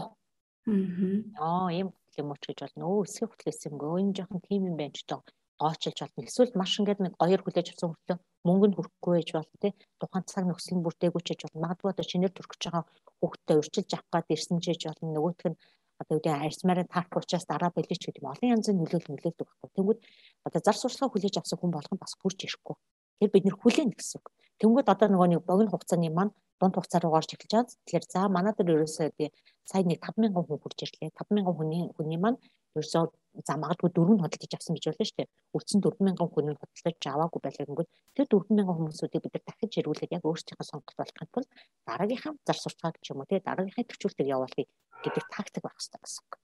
Аа ийм юм уу ч гэж болно. Өө эсрэг хөтлөөс юм гоо энэ жоохон тим юм байна ч тоо гоочилж болно. Эсвэл маш ингээд нэг гоёр хүлээж авсан хөтлөө мөнгө нь хүрэхгүй байж болно тий. Тухайн цаг нөхцөл нь бүрдээгүй ч гэж болно. Магадгүй одоо шинээр төрөх гэж байгаа хүүхдээ урьдчилж авах гад ирсэн ч гэж болно. Нөгөөх нь одоо үгүй арьсмаараа таарх учраас дараа болчих гэдэг юм олон янзын нөлөөлөл нөлөөлдөг байхгүй. Тэгвэл одоо зар сурталчилгаа хүлээж авсан хүн болгон бас хурж ирэхгүй. Тэр бид нэр хүлээн гэсэн үг. Тэнгүүд одоо нөгөө нэг богино хугацааны маань дунд хугацаа руу орж эхэлж байгаа. Тэгэхээр за манай дээр ерөөсөө би сая нэг five thousand хүн хурж ирлээ. five thousand хүний хүний маань ерөөсөө за магадгүй дөрөв нь худалдаж авсан гэж болно шүү дээ. Үлдсэн four thousand хүн нь худалдаж аваагүй байлаа гэнгүүт тэр four thousand хүмүүсүүдийг бид нар дахиж ирүүлээд яг өөрсдийнхөө сонголт болгохын тулд дараагийнхаа зар сурталчилгааг ч юм уу тий дараагийнхаа төвчүүлтийг явуулъя гэдэг тактик байх хэрэгтэй гэсэн үг.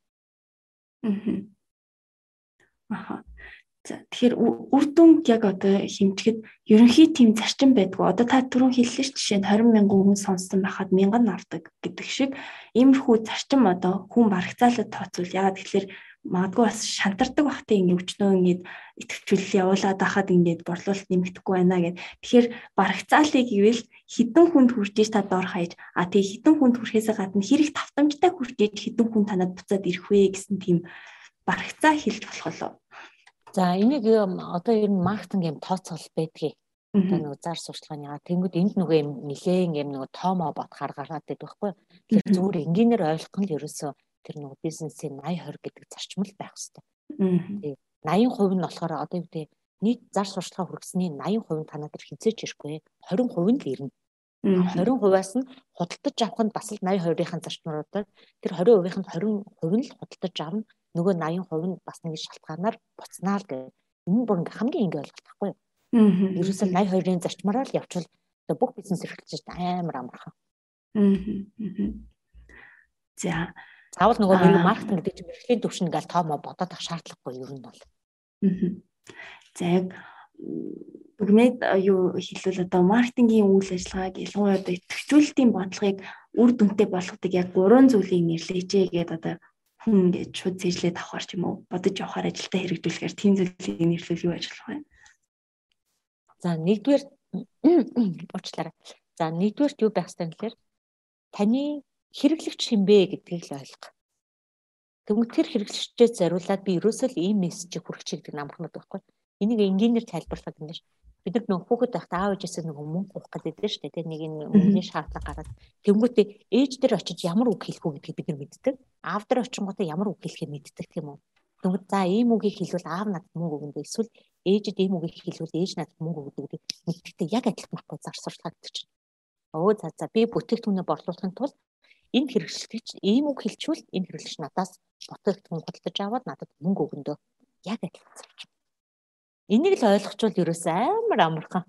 Аа. Тэгэхээр үр дүнд яг одоо хэмжихэд ерөнхий тим зарчим байдгүй. Одоо та түрүүн хэллээ ш жишээ нь twenty мянган хүн сонссон байхад мянган авдаг гэдэг шиг иймэрхүү зарчим одоо хүн барагцаалаад тооцвол яагаад тэгэхээр магадгүй бас шантардаг бахтай ингэ өчнөө ингэ идэвхжүүлэл явуулаад байхад ингэ борлуулалт нэмэгдэхгүй байна гэд. Тэгэхээр барагцаалыг ивэл хідэн хүнд хүрж иж та доор хаяж а тэгээ хідэн хүнд хүрэхээс гадна хэрэг тавтамжтай хүрж иж хідэн хүн танад буцаад ирэх вэ гэсэн тийм барагцаа хэлж болох болов. За энийг одоо ер нь маркетинг юм тооцоол байдгийг одоо нэг зар сурталчилгааны тэнгууд энд нөгөө юм нилээн юм нөгөө тоомоо бодохаар гараад байдаг байхгүй. Тэгэхээр зүгээр энгийнээр ойлгох нь л ерөөсөө тэр нөгөө бизнесийн eighty twenty гэдэг зарчим л байх хэрэгтэй. eighty percent нь болохоор одоо юу гэдэг нийт зар сурталчилгаа хүргэсний eighty percent танаа дээр хизээч ирэхгүй. twenty percent л ирнэ. twenty percent-аас нь худалдаж авах нь бас л eighty percent-ийн зарчмуудаар тэр twenty percent-ийн twenty percent л худалдаж авна. Нөгөө eighty percent бас нэг шалтгаанаар буцнаа л гэх. Энэ бүр ингээ хамгийн ингээ ойлголт байхгүй юу? Ерөөсөө eighty percent-ийн зарчмаараа л явчвал бүх бизнес эрхлэгчид амар амархан. За заавал нөгөө маркетинг гэдэг чинь мэргэжлийн төвшин ингээл тоомоо бодоод авах шаардлагагүй ер нь бол. За яг бүгнээд юу хэлвэл одоо маркетингийн үйл ажиллагааг ялангуяа одоо идэвхжүүлэлтийн бодлогыг үр дүнтэй болгодог яг гурван зүйлийг нэрлэжээ гэдэг одоо хүн ингэж шууд зэжлээд авахар ч юм уу бодож явахаар ажилдаа хэрэгжүүлэхээр тийм зүйлийг нэрлэл юу ажиллах вэ? За нэгдүгээр уучлаарай. За нэгдүгээр юу байх ёстой гэхээр таны хэрэглэгч хинбэ гэдгийг л ойлгох. Тэгвэл тэр хэрэглэгчдээ зориулаад би ерөөсөө л ийм мессежийг хүргэж гэдэг намхнууд байхгүй. Энийг энгийнээр тайлбарлах юм биш. Бид нар нөгөө хүүхэд байхдаа аав ээжээсээ нөгөө мөнгө авах гэдэг дээ шүү дээ. Нэг энэ мөнгөний шаардлага гараад тэнгуүтээ ээж дээр очиж ямар үг хэлэх үү гэдгийг бид нар мэддэг. Аав дээр очингуудаа ямар үг хэлэхээ мэддэг тийм үү. Тэгвэл за ийм үгийг хэлвэл аав надад мөнгө өгнө дээ. Эсвэл ээжэд ийм үгийг хэлвэл ээж надад мөнгө өгдөг гэдэг мэддэгтэй яг адилхан байхгүй зар сурталчилгаа гэдэг чинь. Өө за за би бүтээгдэхүүнээ борлуулахын тулд энэ хэрэглэгч ийм үг хэлчихвэл энэ хэрэглэгч надаас бүтээгдэхүүн худалдаж аваад надад мөнгө өгнө дөө. Яг адилхан зарчим. Энийг л ойлгочвол ерөөсөө амар амархан.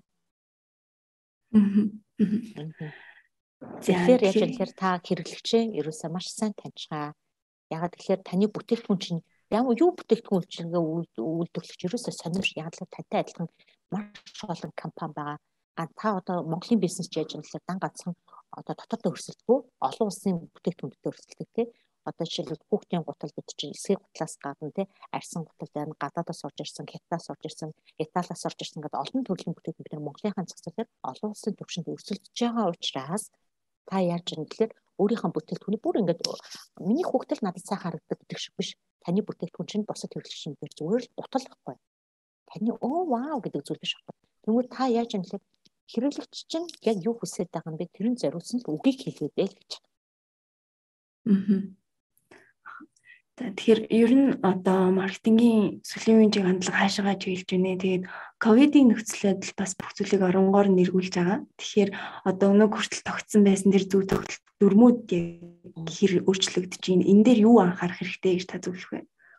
Тэгэхээр яаж гэхээр та хэрэглэгчээ ерөөсөө маш сайн таньчгаа. Ягаад тэгэхээр таны бүтээгдэхүүн чинь ямар юу бүтээгдэхүүн үйлчилгээ үйлдвэрлэгч ерөөсөө сонирш яагаад тантай адилхан маш олон компани байгаа. А та одоо Монголын бизнес яаж юм гэхээр дан ганцхан одоо дотооддоо өрсөлдөхгүй олон улсын бүтээгдэхүүнтэй өрсөлддөг тий. Одоо жишээлбэл хүүхдийн гутал гэдэг чинь эсрэг гутлаас гадна тий арьсан гутал байна, гадаадаас орж ирсэн, хятадаас орж ирсэн, Италиас орж ирсэн гэдэг олон төрлийн бүтээгдэхүүн бид нар Монголынхаа засаглалаар олон улсын түвшинд өрсөлдөж байгаа учраас та яаж юм гэхээр өөрийнхөө бүтээгдэхүүнийг бүр ингээд миний хүүхдэл надад сайн харагддаг гэдэг шиг биш. Таны бүтээгдэхүүн чинь босод хэрэглэгчийн дээр зүгээр л гутал байхгүй. Таны оо вау гэдэг зүйл биш байхгүй. Тэгвэл та яаж юм гэхээр хэрэглэгч чинь яг юу хүсэж байгаа юм бэ? Тэрэн зориулсан л үгийг хэлээд л гэж. Аа. Тэгэхээр ер нь одоо маркетингийн сүлийн үеийн хандлага хаашаагаа чиглэж байна. Тэгээд ковидын нөхцөл байдал бас бүх зүйлийг оронгоор нэргүүлж байгаа. Тэгэхээр одоо өнөө хүртэл тогтсон байсан тэр зүй тогтолт дүрмүүд хэр өөрчлөгдөж байна. Энэ дээр юу анхаарах хэрэгтэй гэж та зөвлөх вэ?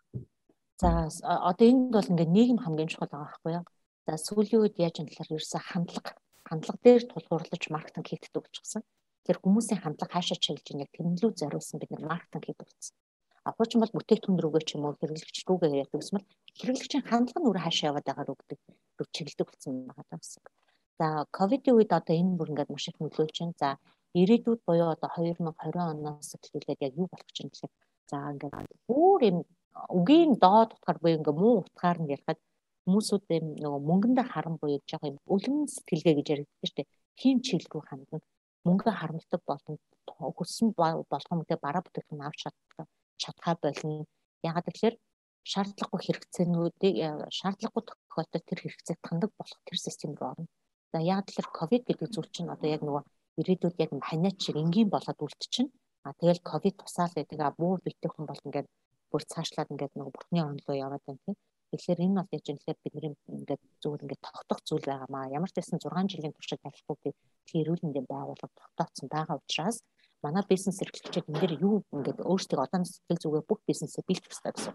За одоо энд бол ингээд нийгэм хамгийн чухал байгаа байхгүй юу? За сүүлийн үед яаж юм гэхээр ерөөсө хандлага хандлага дээр тулгуурлаж маркетинг хийгддэг болчихсон. Тэр хүмүүсийн хандлага хаашаа чиглэж байна яг тэрнлүү зориулсан бид нар маркетинг хийдэг болсон. Апууч бол бүтээгдэхүүн рүүгээ ч юм уу хэрэглэгч рүүгээ яадаг гэсэн мэл хэрэглэгчийн хандлага нь өөр хаашаа яваад байгаа рүү гэдэг рүү чиглэдэг болсон байгаа гэсэн. За ковидын үед одоо энэ бүр ингээд маш их нөлөөлж байна. За ирээдүйд буюу одоо twenty twenty оноос эхлүүлээд яг юу болох гэж байна гэхээр за ингээд бүр юм үгийн доод утгаар буюу ингээд муу утгаар нь ярихад хүмүүсүүд юм нөгөө мөнгөндөө харан буюу жоо юм өлөн сэтгэлгээ гэж яригддаг шүү дээ. Тийм чиглэл рүү хандна. Мөнгө харамтдаг болно. Хүссэн болгоомжтой бараа бүтээгдэхүүн авч чаддаг. Чадхаа болно. Ягаад гэвэл шаардлагагүй хэрэгцээнүүдийг шаардлагагүй тохиолдолд тэр хэрэгцээг таньдаг болох тэр систем рүү орно. За ягаад гэвэл ковид гэдэг зүйл чинь одоо яг нөгөө ирээдүйд яг ханиач шиг энгийн болоод үлдчихнэ. А тэгэл ковид тусаал гэдэг а бүр бүтээгдэхүүн бол ингээд бүр цаашлаад ингээд нөгөө бурхны орн руу яваад байна тийм. Тэгэхээр энэ бол яаж юм тэгэхээр бидний ингээд зүгээр ингээд тогтох зүйл байгаамаа. Ямар ч байсан six жилийн туршид ялахгүй тэр эрүүл мэндийн байгууллага тогтооцсон байгаа учраас манай бизнес эрхлэгчид энэ дээр юу ингээд өөрсдөө одооноос сэтгэл зүгээр бүх бизнесээ бэлтгэх хэрэгтэй гэсэн.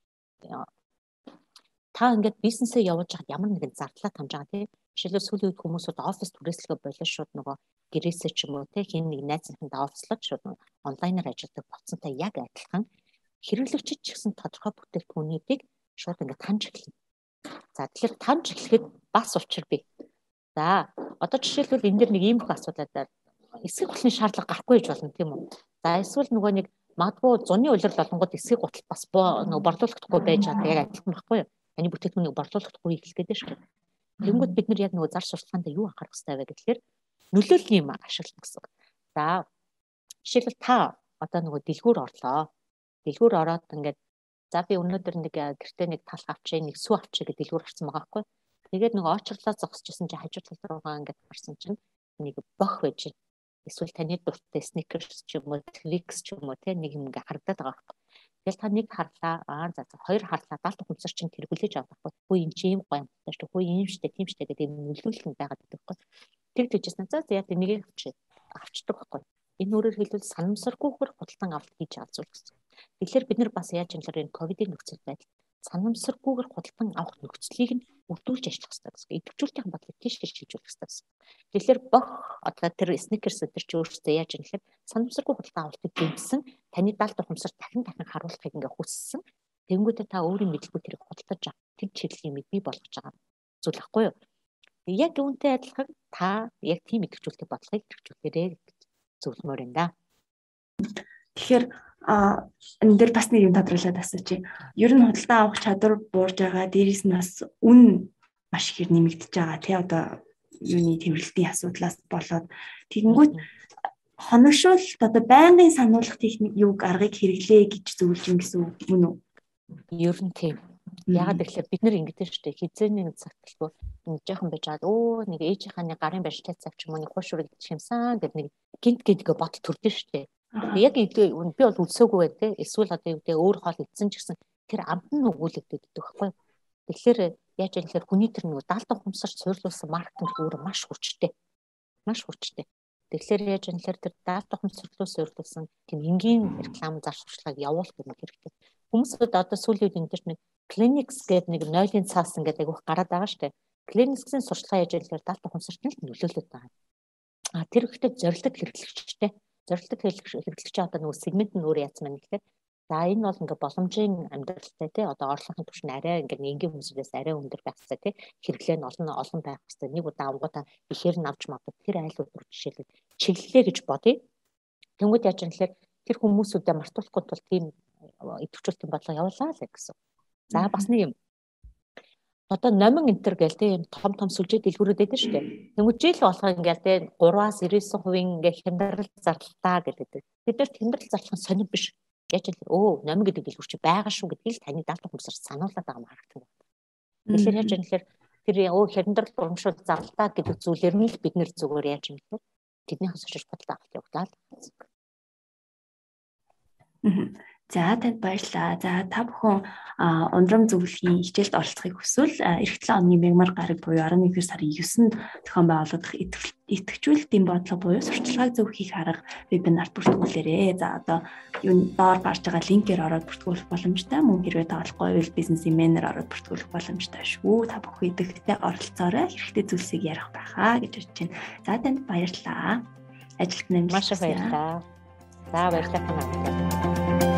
Та ингээд бизнесээ явуулж хаад ямар нэгэн зардлаа тамж байгаа тийм. Жишээлбэл сүүлийн үед хүмүүсүүд офис түрээслэгээ болоо шууд нөгөө гэрээсээ ч юм уу тийм хин нэг найзынхандаа офислоод шууд онлайнаар ажилладаг болцсонтой яг адилхан хэрэглэгчид ч гэсэн тодорхой бүтээгдэхүүнүүдийг шууд ингээд таньж эхэлнэ. За тэгэхээр таньж эхлэхэд бас учир бий. За одоо жишээлбэл энэ дэр нэг ийм их асуудал эсрэг гутлын шаардлага гарахгүй гэж болно тийм үү. За эсвэл нөгөө нэг магадгүй зуны улирал болонгод эсрэг гутал бас нөгөө борлуулагдахгүй байж чаддаг яг адилхан байхгүй юу. Таны бүтээгдэхүүнийг борлуулахгүй хэлэх гэдэг шүү дээ. Тэнгүүд бид нар яг нөгөө зар сурталчилгаанд юу анхаарах хэрэгтэй вэ гэхээр нөлөөллийн юм ашиглана гэсэн. За жишээлбэл та одоо нөгөө дэлгүүр орлоо. Дэлгүүр ороод ингээд за би өнөөдөр нэг гэртээ нэг талх авчээ, нэг сүү авчээ гэдэг дэлгүүр орсон байгаа байхгүй. Тэгээд нөгөө очрлоо зогсчихсан чи хажуу тал руугаа ингээд харсан чинь нэг бох байж байна. Эсвэл таны дуртай сникерс ч юм уу, твикс ч юм уу те нэг юм ингээд харагдаад байгаа байхгүй. Тэгэл та нэг харлаа, аа за за хоёр харлаа, даалт ухамсар чинь тэр хүлээж авах байхгүй. Хүү энэ чи юм гоё юм байна шүү. Хүү ийм штэ, тийм штэ гэдэг нөлөөлөл нь байгаад байдаг байхгүй. Тэгж үжсэн. За за яа тэ нэгийг авчи авчдаг байхгүй. Энэ өөрөөр хэлбэл санамсаргүйгээр худалдан авалт хийж авцуул гэсэн. Тэгэхээр бид нар бас яаж юм л энэ ковидын нөхцөл байдал санамсаргүйгээр худалдан авах нөхцөлийг нь өрдүүлж ажиллах хэрэгтэй гэсэн. Идэвхжүүлэлтийн бодлого тийш хийж хийжүүлэх хэрэгтэй гэсэн. Тэгэхээр бох одоо тэр сникерс өдр чи өөрөөсөө яаж юм гэхээр санамсаргүй худалдан авалтыг дэмжсэн таны даалт ухамсар дахин дахин харуулахыг ингээ хүссэн. Тэнгүүтээ та өөрийн мэдлгүй тэрийг худалдаж авах тэр чиглэлийн мэд бий болгож байгаа зүйл байхгүй юу? Яг үүнтэй адилхан та яг тийм идэвхжүүлэлтийн бодлогыг идэвхжүүлээрэй гэж зөвлөмөр юм да. Тэгэхээр а энэ дээр бас нэг юм тодруулаад асуучих. Ер нь худалдан авах чадвар буурж байгаа, дээрээс нь бас үн маш их нэмэгдэж байгаа. Тэ одоо юуны тэмрэлтийн асуудлаас болоод тэгэнгүүт хоногшуулалт одоо байнгын сануулгах техник юуг аргыг хэрэглэе гэж зөвлөж юм гэсэн үг мөн үү? Ер нь тийм. Ягаад гэвэл бид нар ингэдэж штэ хизээний нэг цагтлгүй нэг жоохон байж байгаа. Өө нэг ээжийнхаа нэг гарын барьцтай цаг ч юм уу нэг хуушрыг шимсэн гэдэг нэг гинт гэдгээ бод төрдөн штэ. Яг би бол үлсээгүй байх те. Эсвэл одоо юу гэдэг өөр хоол идсэн ч гэсэн тэр амт нь өгүүлэгдээд идэх байхгүй. Тэгэхээр яаж юм гэхээр хүний тэр нэг даалт ухамсарт суйрлуулсан маркетинг өөр маш хүчтэй. Маш хүчтэй. Тэгэхээр яаж юм гэхээр тэр даалт ухамсарт суйрлуулсан тийм энгийн реклам зар сурталчилгааг явуулах юм хэрэгтэй. Хүмүүсд одоо сүүлийн үед энэ нэг Clinics гэдэг нэг нойлын цаас ингээд айгүйх гараад байгаа штэ. Clinics-ийн сурталчилгаа яаж яагаар даалт ухамсарт нь нөлөөлөд байгаа. А тэр ихтэй зорилтод хэрэглэгчтэй. Зорилтод хэрэглэгч одоо нөгөө сегмент нь өөр яасан байна гэхээр за энэ бол ингээ боломжийн амьдралтай тий одоо орлогын түвшин арай ингээ энгийн хүмүүсээс арай өндөр байх хэрэгтэй тий хэрэглээ нь олон олон байх хэрэгтэй. Нэг удаа авангуудаа ихээр нь авч магадгүй тэр айлууд руу жишээлбэл чиглэлээ гэж бодъё. Тэнгүүд яаж юм гэхээр тэр хүмүүсүүдэд мартуулахгүй тул тийм идэвхжүүлэлтийн бодлого явуулаа л гэсэн. За бас нэг юм. Одоо номин энтер гээл те том том сүлжээ дэлгүүрүүд байдаг шүү дээ. Тэнгүүд жил болгоо ингээл те гураваас девять хувийн ингээ хямдрал зарлалтаа гэдэг. Бид нар хямдрал зарлах нь сонир биш. Яаж юм өө номин гэдэг дэлгүүр чи байгаа шүү гэдгийг л таны даалт ухамсар сануулад байгаа маркетинг. Тэгэхээр яаж юм гэхээр тэр өө хямдрал урамшуул зарлалтаа гэдэг зүйлээр нь л бид нэр зүгээр яаж юм гэхээр тэднийхээс очиж бодлоо авах явуулаад. За танд баярлалаа. За та бүхэн ундрам зөвлөхийн хичээлд оролцохыг хүсвэл эх долоо оны мягмар гараг буюу арван нэгдүгээр сарын девээснд зохион байгуулагдах идэвхжүүлэлтийн бодлого буюу сурталчилгааг зөв хийх арга вебинарт бүртгүүлээрэй. За одоо юу доор гарч байгаа линкээр ороод бүртгүүлэх боломжтой. Мөн хэрвээ таалахгүй бол бизнесийн менежер ороод бүртгүүлэх боломжтой шүү. Та бүхэн идэвхтэй оролцоорой. Хэрэгтэй зүйлсийг ярих байхаа гэж бодож байна. За танд баярлалаа. Ажилд нэмэлт маш их баярлалаа. За баярлалаа.